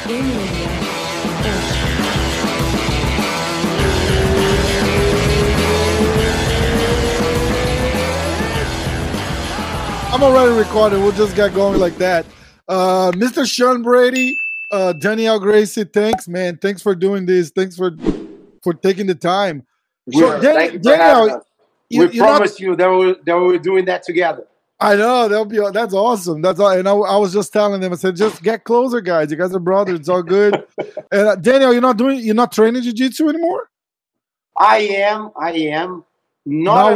I'm already recording. We'll just get going like that. Mr. Sean Brady, Danielle Gracie, thanks, man. Thanks for doing this. Thanks for taking the time. So, thank you for having us. We promised you that we were doing that together. I know that's awesome. That's all. And I was just telling them. I said, just get closer, guys. You guys are brothers. It's all good. And Daniel, you're not training jiu-jitsu anymore. I am. Not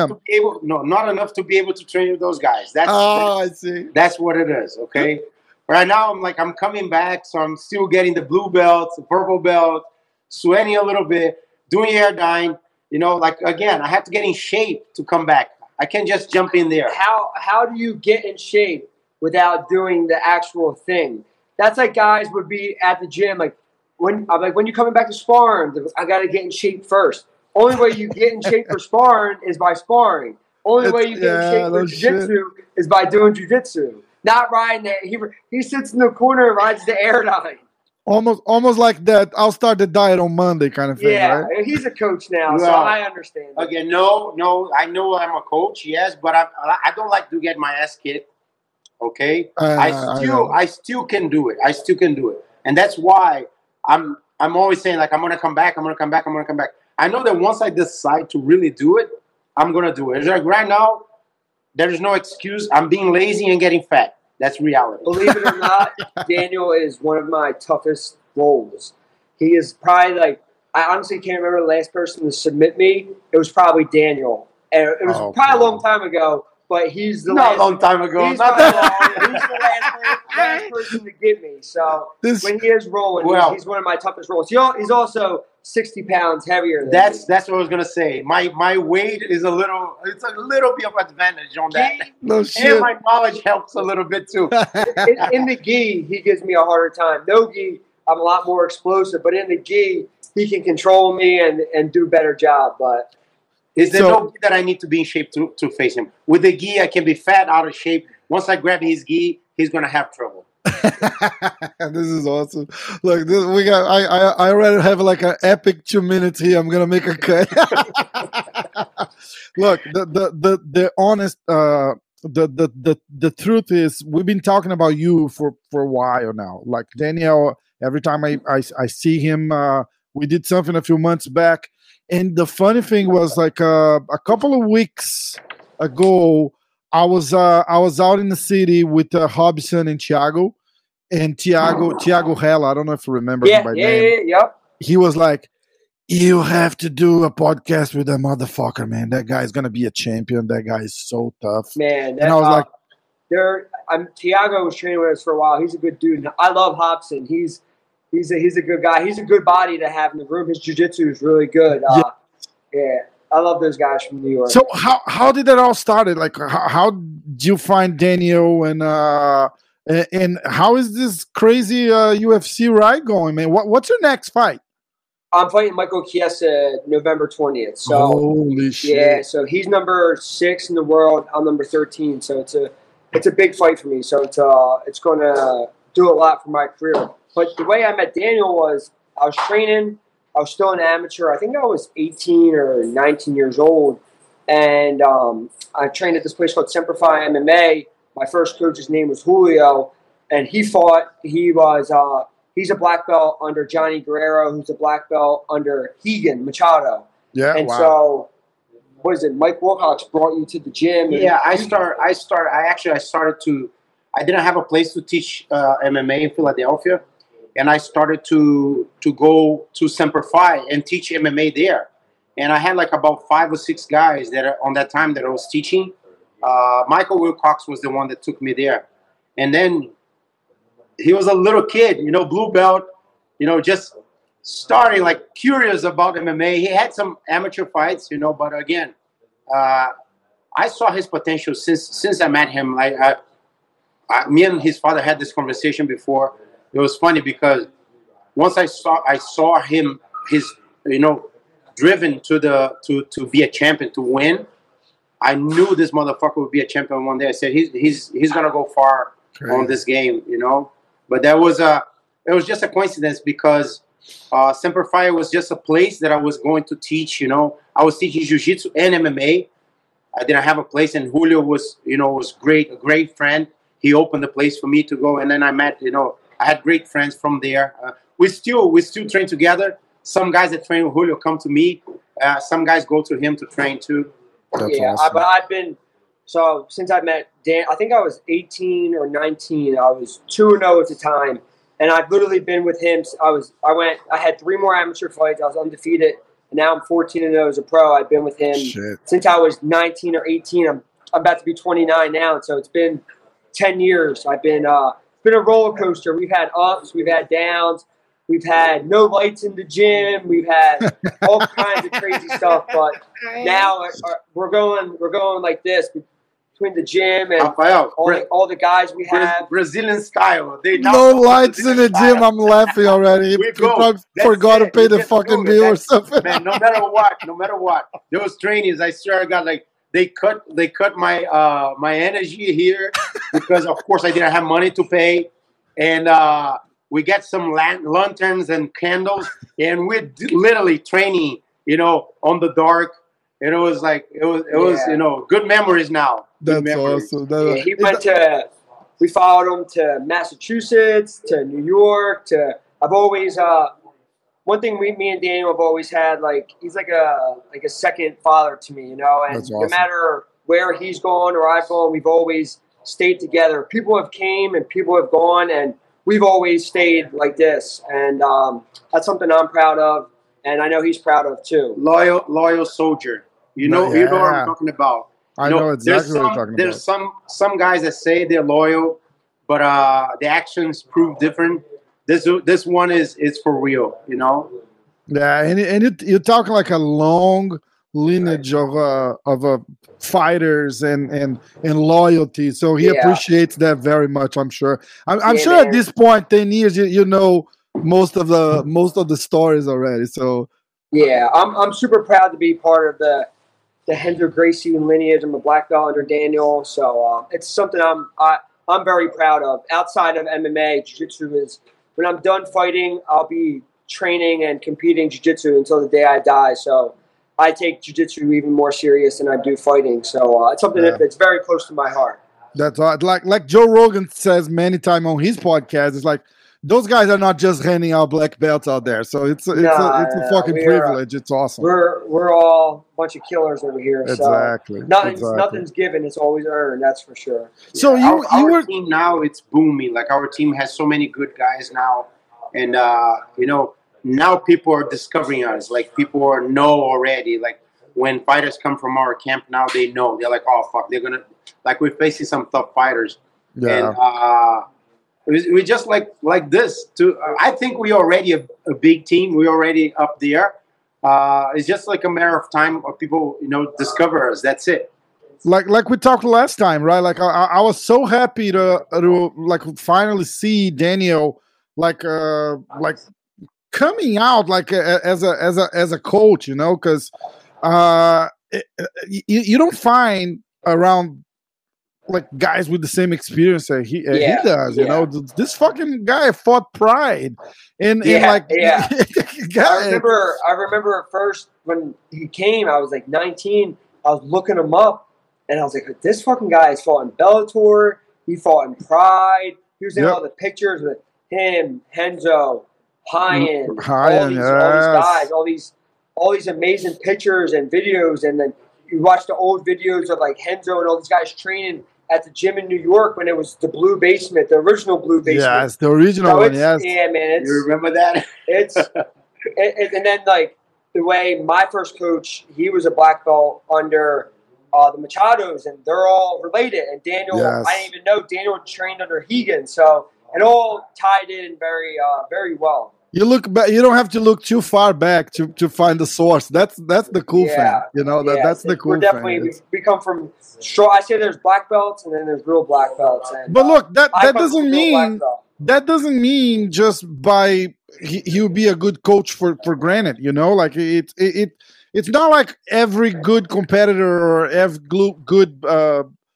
enough to be able to train with those guys. I see. That's what it is. Okay. Right now, I'm coming back, so I'm still getting the blue belt, the purple belt, sweating a little bit, doing air dyeing. Again, I have to get in shape to come back. I can't just jump in there. How do you get in shape without doing the actual thing? That's like guys would be at the gym. When you're coming back to sparring, I got to get in shape first. Only way you get in shape for sparring is by sparring. Only way you get in shape for jiu-jitsu is by doing jiu-jitsu. Not riding it. He sits in the corner and rides the air line. Almost like that. I'll start the diet on Monday kind of thing. Yeah, right? He's a coach now, so I understand. Again, no. I know I'm a coach, yes, but I don't like to get my ass kicked. Okay, I still can do it. And that's why I'm always saying I'm gonna come back. I know that once I decide to really do it, I'm gonna do it. It's like right now, there is no excuse. I'm being lazy and getting fat. That's reality. Believe it or not, Daniel is one of my toughest roles. He is probably I honestly can't remember the last person to submit me. It was probably Daniel. And it was probably a long time ago, but he's the last. Not a long time ago. He's the last person to get me. So when he is rolling, he's one of my toughest rolls. He's also 60 pounds heavier than me. That's what I was gonna say. My weight is a little bit of advantage on that. No shit. And my knowledge helps a little bit too. In the gi, he gives me a harder time. No gi, I'm a lot more explosive, but in the gi, he can control me and do a better job. But is there no gi that I need to be in shape to face him? With the gi, I can be fat, out of shape. Once I grab his gi, he's gonna have trouble. This is awesome. Look, I already have an epic 2 minutes here. I'm gonna make a cut. Look, the honest the truth is we've been talking about you for a while now. Like Daniel, every time I see him, we did something a few months back, and the funny thing was a couple of weeks ago, I was out in the city with Hobson and Thiago. And Thiago Hella, I don't know if you remember him by name. Yep. He was like, you have to do a podcast with that motherfucker, man. That guy's going to be a champion. That guy is so tough. Man. And I was like... Thiago was training with us for a while. He's a good dude. I love Hobson. He's a good guy. He's a good body to have in the room. His jiu-jitsu is really good. Yeah. I love those guys from New York. So how did that all started? How did you find Daniel and how is this crazy UFC ride going, man? What's your next fight? I'm fighting Michael Chiesa November 20th. So holy shit! Yeah, so he's number 6 in the world. I'm number 13. So it's a big fight for me. So it's going to do a lot for my career. But the way I met Daniel was I was training. I was still an amateur. I think I was 18 or 19 years old, and I trained at this place called Semperfi MMA. My first coach's name was Julio, and he fought. He's a black belt under Johnny Guerrero, who's a black belt under Hegan Machado. Yeah, and so, what is it? Mike Wilcox brought you to the gym. Yeah, I started to. I didn't have a place to teach MMA in Philadelphia, and I started to go to Semperfi and teach MMA there. And I had about 5 or 6 guys that on that time that I was teaching. Michael Wilcox was the one that took me there. And then he was a little kid, blue belt, just starting curious about MMA. He had some amateur fights, but again, I saw his potential since I met him. Me and his father had this conversation before. It was funny because once I saw him, driven to be a champion, to win. I knew this motherfucker would be a champion one day. I said he's gonna go far on this game, But that was it was just a coincidence because Semper Fi was just a place that I was going to teach. I was teaching jiu-jitsu and MMA. I didn't have a place, and Julio was great, a great friend. He opened the place for me to go, and then I met, I had great friends from there. We still train together. Some guys that train with Julio come to me. Some guys go to him to train too. That's yeah, awesome. but I've been since I met Dan. I think I was 18 or 19. I was 2-0 at the time, and I've literally been with him. I had 3 more amateur fights. I was undefeated, and now I'm 14-0 as a pro. I've been with him since I was 19 or 18. I'm about to be 29 now, so it's been 10 years. I've been been a roller coaster. We've had ups, we've had downs. We've had no lights in the gym. We've had all kinds of crazy stuff. But now we're going like this between the gym and all the guys we have. Brazilian style. No lights in the gym. I'm laughing already. We forgot to pay the fucking bill or something. Man, no matter what, those trainings, I swear to God, like they cut my my energy here because of course I didn't have money to pay, and we get some lanterns and candles, and we're literally training, on the dark. And it was good memories now. That's awesome. We followed him to Massachusetts, to New York, I've always, one thing me and Daniel have always had, he's like a second father to me, and That's awesome. No matter where he's gone or I've gone, we've always stayed together. People have came and people have gone, and we've always stayed like this, and that's something I'm proud of, and I know he's proud of too. Loyal soldier. You know what I'm talking about. I know exactly what you're talking about. There's some guys that say they're loyal, but the actions prove different. This one is for real. Yeah, and you're talking like a long lineage of fighters and loyalty, so he appreciates that very much. I'm sure. I'm sure man. At this point, 10 years, you know most of the stories already. So yeah, I'm super proud to be part of the Renzo Gracie lineage. I'm a black belt under Daniel, so it's something I'm very proud of. Outside of MMA, jiu-jitsu is when I'm done fighting, I'll be training and competing jiu-jitsu until the day I die. So I take jiu-jitsu even more serious than I do fighting. So it's something that's very close to my heart. That's like Joe Rogan says many times on his podcast. It's like those guys are not just handing out black belts out there. So it's a fucking privilege. It's awesome. We're all a bunch of killers over here. Exactly. So nothing's given. It's always earned. That's for sure. So our team now, it's booming. Like our team has so many good guys now, and now people are discovering us. Like people know already. Like when fighters come from our camp now, they know. They're like, oh fuck, they're gonna we're facing some tough fighters. Yeah. And we just like this. I think we already a big team. We're already up there. It's just like a matter of time of people, discover us. That's it. Like we talked last time, right? Like I was so happy to finally see Daniel coming out as a coach, because you don't find around like guys with the same experience that he does. This fucking guy fought Pride, and I I remember at first when he came, I was like 19. I was looking him up, and I was like, this fucking guy has fought in Bellator. He fought in Pride. He was in all the pictures with him, Renzo, Ryan, all these guys, all these amazing pictures and videos, and then you watch the old videos of like Renzo and all these guys training at the gym in New York when it was the Blue Basement, the original Blue Basement. Yes, the original one, yes. Yeah, man. You remember that? And then like the way my first coach, he was a black belt under the Machados, and they're all related. And Daniel, I didn't even know Daniel trained under Hegan, so it all tied in very, very well. You look back. You don't have to look too far back to find the source. That's the cool thing. That's the cool thing. We come from strong. I say there's black belts and then there's real black belts. And, but look, that doesn't mean just by he'll be a good coach for granted. Like it's not like every good competitor or every good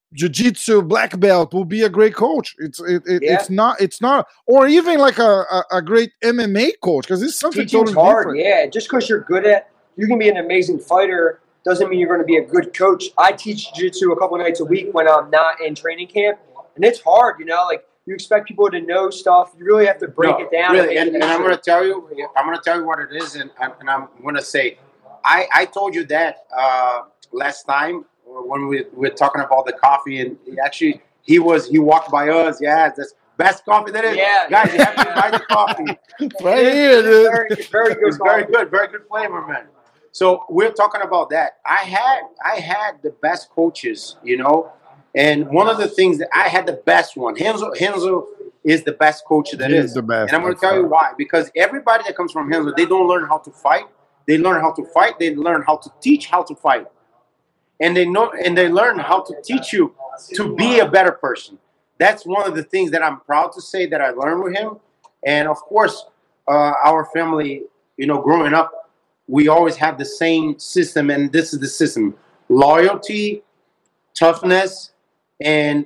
jiu-jitsu black belt will be a great coach. It's not, or even like a great MMA coach, because it's something Teaching's totally hard, different. yeah. Just because you're good at, you can be an amazing fighter, doesn't mean you're going to be a good coach. I teach jiu-jitsu a couple nights a week when I'm not in training camp, and it's hard, like you expect people to know stuff. You really have to break it down. Really, and I'm going to tell you, what it is, and I'm going to say, I told you that last time when we were talking about the coffee, and he walked by us. Yeah, that's best coffee that is. Yeah, guys, you have to buy the coffee. Right here, dude. Very good, It's very good flavor, man. So we're talking about that. I had the best coaches, and one of the things that I had the best one. Renzo is the best coach that is. The best. And I'm going to tell you why. Because everybody that comes from Renzo, they don't learn how to fight. They learn how to fight. They learn how to teach how to fight. And they learn how to teach you to be a better person. That's one of the things that I'm proud to say that I learned with him. And of course, our family, growing up, we always have the same system, and this is the system: loyalty, toughness, and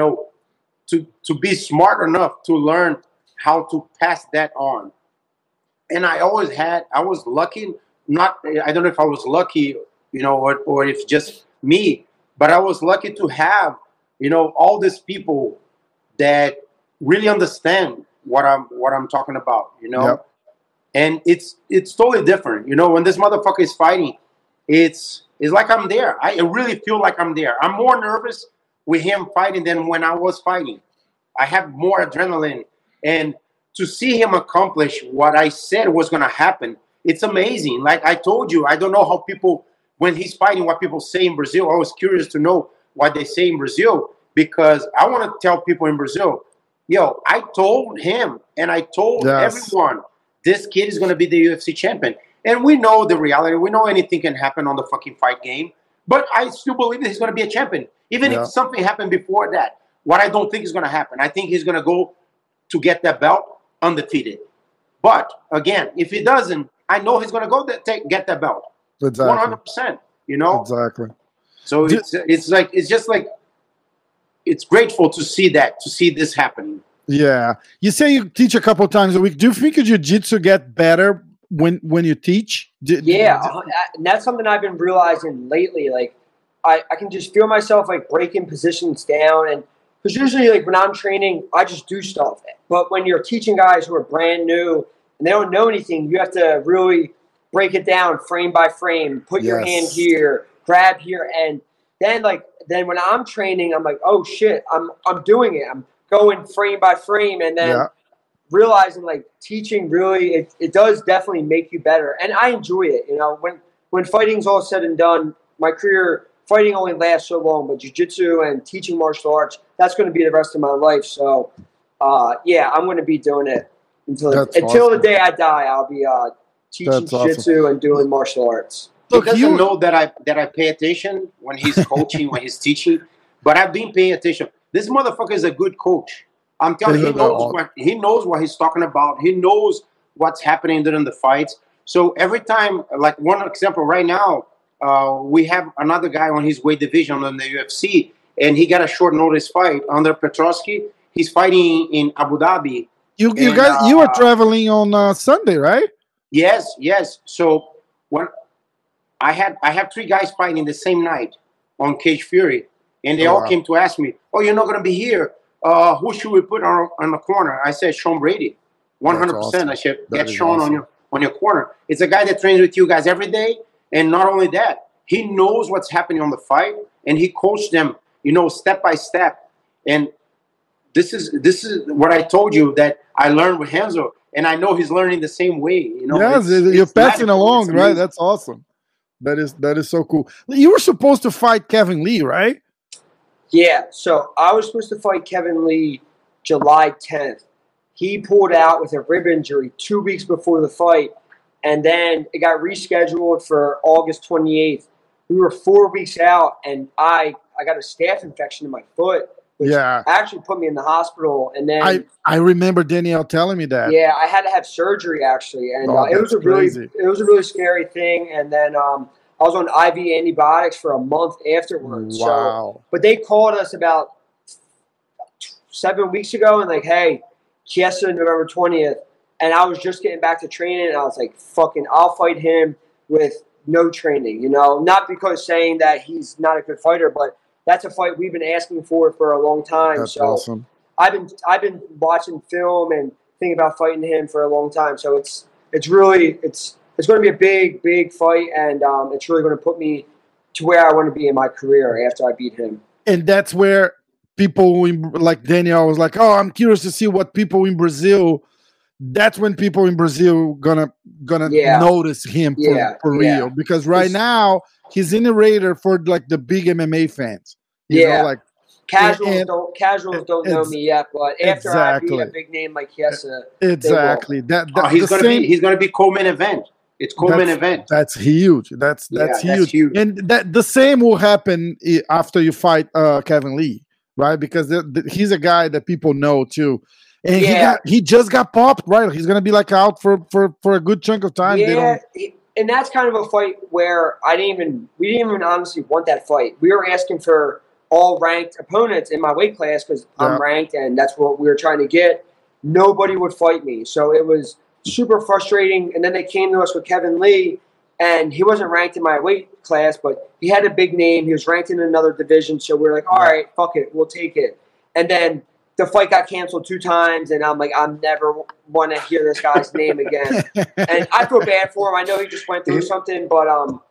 to be smart enough to learn how to pass that on. And I was lucky. I don't know if I was lucky, or if just me, but I was lucky to have, all these people that really understand what I'm talking about, Yep. And it's totally different, when this motherfucker is fighting, it's like I'm there. I really feel like I'm there. I'm more nervous with him fighting than when I was fighting. I have more adrenaline, and to see him accomplish what I said was going to happen, it's amazing. Like I told you, I don't know how people, when he's fighting, what people say in Brazil. I was curious to know what they say in Brazil, because I want to tell people in Brazil, I told him and I told everyone, this kid is going to be the UFC champion. And we know the reality. We know anything can happen on the fucking fight game. But I still believe that he's going to be a champion. Even if something happened before that, what I don't think is going to happen. I think he's going to go to get that belt undefeated. But again, if he doesn't, I know he's going to go get that belt. Exactly. 100%. Exactly. So it's grateful to see this happening. Yeah. You say you teach a couple times a week. Do you think your jiu-jitsu get better when you teach? And that's something I've been realizing lately. Like, I can just feel myself like breaking positions down, and because usually like when I'm training, I just do stuff. But when you're teaching guys who are brand new and they don't know anything, you have to really break it down frame by frame. Put your hand here, grab here, and then when I'm training, I'm like, oh shit, I'm doing it. I'm going frame by frame, and then realizing like teaching really it does definitely make you better, and I enjoy it. When fighting's all said and done, my career fighting only lasts so long, but jiu-jitsu and teaching martial arts, that's going to be the rest of my life. So I'm going to be doing it until the day I die. I'll be teaching jiu-jitsu and doing martial arts. He doesn't know that I pay attention when he's coaching, when he's teaching, but I've been paying attention. This motherfucker is a good coach. I'm telling you, he knows what he's talking about. He knows what's happening during the fights. So every time, like one example right now, we have another guy on his weight division in the UFC, and he got a short notice fight under Petroski. He's fighting in Abu Dhabi. You were traveling on Sunday, right? Yes. So when I have 3 guys fighting the same night on Cage Fury, and they all came to ask me, "Oh, you're not going to be here. Who should we put on the corner?" I said, "Sean Brady, 100%." Awesome. I said, "Get Sean on your corner." It's a guy that trains with you guys every day, and not only that, he knows what's happening on the fight, and he coached them, step by step. And this is what I told you that I learned with Renzo, and I know he's learning the same way. Yes, you're passing along, right? That's awesome. That is so cool. You were supposed to fight Kevin Lee, right? Yeah, so I was supposed to fight Kevin Lee July 10th. He pulled out with a rib injury 2 weeks before the fight, and then it got rescheduled for August 28th. We were 4 weeks out, and I got a staph infection in my foot, which actually put me in the hospital. And then I remember Danielle telling me that. Yeah, I had to have surgery actually, and it was a really scary thing. And then I was on IV antibiotics for a month afterwards. Wow. So, but they called us about 7 weeks ago and like, hey, Chiesa November 20th. And I was just getting back to training, and I was like, fucking, I'll fight him with no training, you know? Not because saying that he's not a good fighter, but that's a fight we've been asking for a long time. That's so awesome. I've been watching film and thinking about fighting him for a long time. So it's going to be a big fight, and it's really going to put me to where I want to be in my career after I beat him. And that's where people like Daniel was like, oh, I'm curious to see what people in Brazil. That's when people in Brazil gonna notice him for real, because right now he's in the radar for like the big MMA fans. You know, like casuals don't know me yet, but after I beat a big name like Chiesa, exactly he's gonna be co-main event. It's co-main event. That's huge. That's huge. And that the same will happen after you fight Kevin Lee, right? Because he's a guy that people know too. And he just got popped, right? He's gonna be like out for a good chunk of time. Yeah, and that's kind of a fight where we didn't even honestly want that fight. We were asking for all ranked opponents in my weight class because I'm ranked, and that's what we were trying to get. Nobody would fight me, so it was super frustrating. And then they came to us with Kevin Lee, and he wasn't ranked in my weight class, but he had a big name. He was ranked in another division, so we were like, all right, fuck it, we'll take it. And then the fight got canceled 2 times, and I'm like, I'm never want to hear this guy's name again. And I feel bad for him. I know he just went through something, but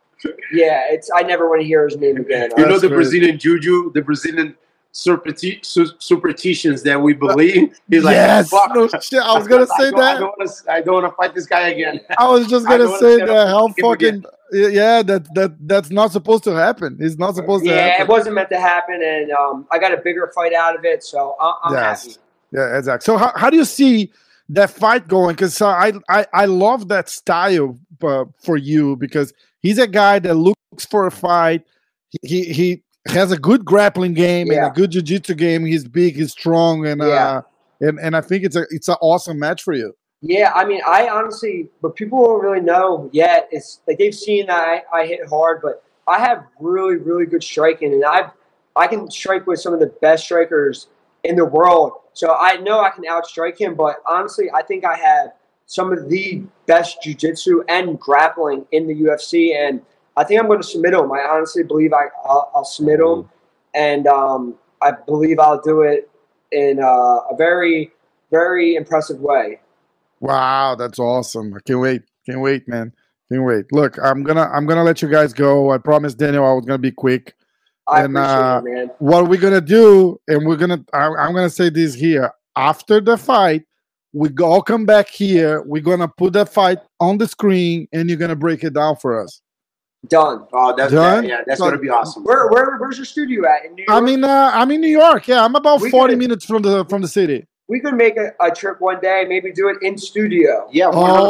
I never want to hear his name again. You know the Brazilian juju, the Brazilian superstitions that we believe. He's like, fuck. No shit. I was gonna say that. I don't want to fight this guy again. I was just gonna say that. How fucking that's not supposed to happen. It's not supposed to happen. Yeah, it wasn't meant to happen, and I got a bigger fight out of it, so I'm happy. Yeah, exactly. So how do you see that fight going? Because I love that style for you, because he's a guy that looks for a fight. He has a good grappling game and a good jiu-jitsu game. He's big, he's strong, and I think it's an awesome match for you. Yeah, I mean, I honestly, but people don't really know yet. It's like they've seen that I hit hard, but I have really, really good striking, and I can strike with some of the best strikers in the world. So I know I can outstrike him, but honestly, I think I have some of the best jiu-jitsu and grappling in the UFC, and I think I'm going to submit him. I honestly believe I'll submit him, and I believe I'll do it in a very, very impressive way. Wow, that's awesome! I can't wait, man, can't wait. Look, I'm gonna let you guys go. I promised Daniel I was gonna be quick. I appreciate it, man. What we're gonna do, and I'm gonna say this here after the fight. We all come back here. We're gonna put that fight on the screen, and you're gonna break it down for us. Done. Oh, that's done. That's gonna be awesome. Where's your studio at in New York? I'm in New York. Yeah, I'm about 40 minutes from the city. We could make a trip one day. Maybe do it in studio. Yeah. 100%.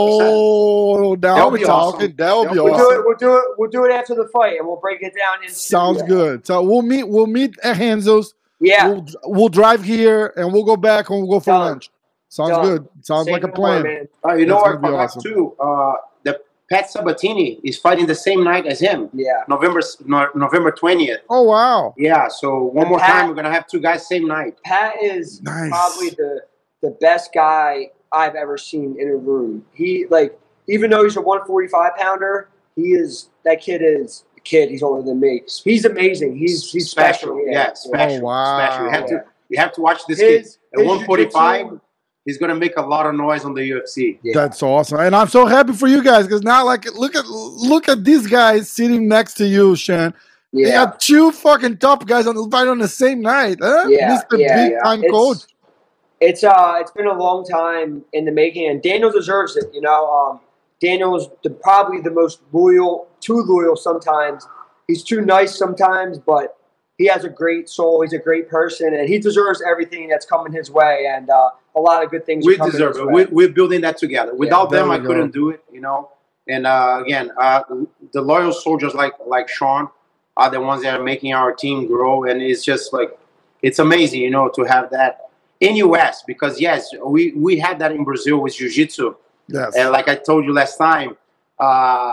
Oh, now we're talking. That'll be awesome. We'll do it after the fight, and we'll break it down. Sounds good. So we'll meet at Hanzo's. Yeah. We'll drive here, and we'll go back, and we'll go for lunch. Sounds good. Sounds like a plan. You know what I forgot too? The Pat Sabatini is fighting the same night as him. Yeah. November 20th. Oh wow. Yeah. So one more time, we're gonna have 2 guys same night. Pat is probably the best guy I've ever seen in a room. He even though he's a 145 pounder, He's older than me. He's amazing. He's special. Yeah, special. Oh, wow. Special. You have to watch this kid. At 145, he's gonna make a lot of noise on the UFC. Yeah. That's awesome, and I'm so happy for you guys because now, look at these guys sitting next to you, Shan. Yeah. They got 2 fucking top guys on the same night. Huh? Yeah, Mr. Big Time Coach. It's been a long time in the making, and Daniel deserves it. Daniel's probably the most loyal, too loyal sometimes. He's too nice sometimes, but he has a great soul. He's a great person, and he deserves everything that's coming his way. And a lot of good things. We deserve it. We're building that together. Without them, I couldn't do it. And again, the loyal soldiers like Sean are the ones that are making our team grow, and it's just it's amazing, to have that in US because yes, we had that in Brazil with jiu-jitsu. Yes. And like I told you last time,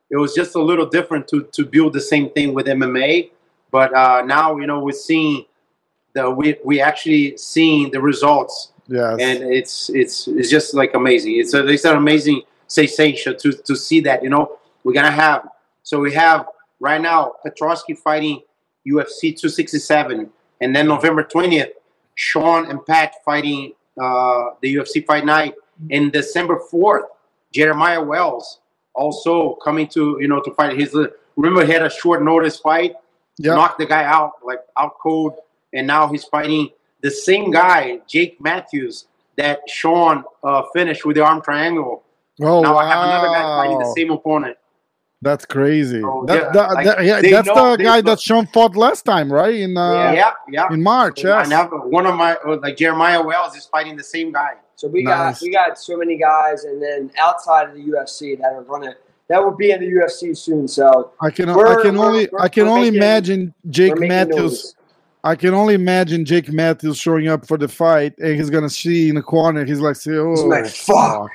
it was just a little different to build the same thing with MMA. But now, we're seeing we actually seeing the results. Yes. And it's just like amazing. It's an amazing sensation to see that. We're gonna have. So we have right now Petroski fighting UFC 267, and then November 20th, Sean and Pat fighting the UFC Fight Night, and December 4th, Jeremiah Wells also coming to to fight. Remember he had a short notice fight, knocked the guy out cold, and now he's fighting the same guy, Jake Matthews, that Sean finished with the arm triangle. Oh, now wow. I have another guy fighting the same opponent. That's crazy. So, that's the guy that Sean fought last time, right? In March. Yes. And one of my Jeremiah Wells is fighting the same guy. So we got so many guys, and then outside of the UFC that will be in the UFC soon. So I can only imagine Jake Matthews. I can only imagine Jake Matthews showing up for the fight, and he's gonna see in the corner. He's like, fuck.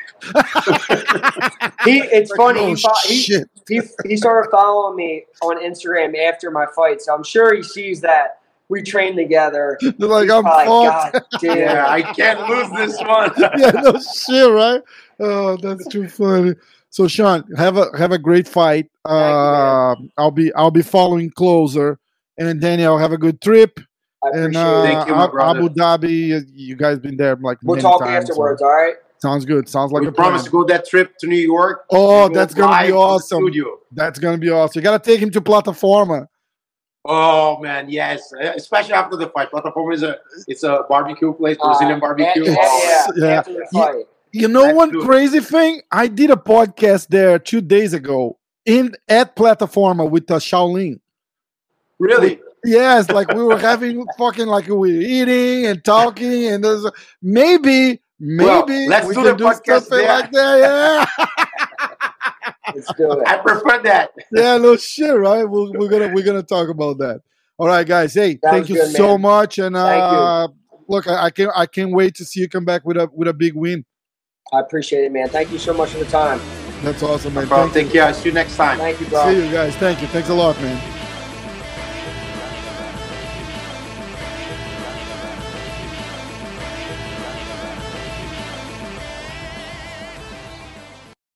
It's funny. He started following me on Instagram after my fight, so I'm sure he sees that we train together. Like, I'm God damn. Yeah, I can't lose this one. Yeah, no shit, right? Oh, that's too funny. So, Sean, have a great fight. I'll be following closer. And Daniel, have a good trip. I appreciate it. Thank you, my brother. Abu Dhabi, you guys been there like we'll many talk times, afterwards, all right? Sounds good. Sounds like we a promise plan. to go that trip to New York. Oh, that's gonna be awesome. Studio. That's gonna be awesome. You gotta take him to Plataforma. Oh man, yes, especially after the fight. Plataforma it's a barbecue place, Brazilian barbecue. Yeah. After the fight. You know one crazy thing? I did a podcast there 2 days ago at Plataforma with Shaolin. Really? Yes, like we were having fucking we were eating and talking, and there's maybe let's we do can the podcast something there. like that. Yeah. Let's do it. I prefer that. Yeah, no shit, right? We're gonna talk about that. All right, guys. Hey, thank you so much, and look, I can't wait to see you come back with a big win. I appreciate it, man. Thank you so much for the time. That's awesome, man. Bro, take care. See you next time. Thank you, bro. See you guys. Thank you. Thanks a lot, man.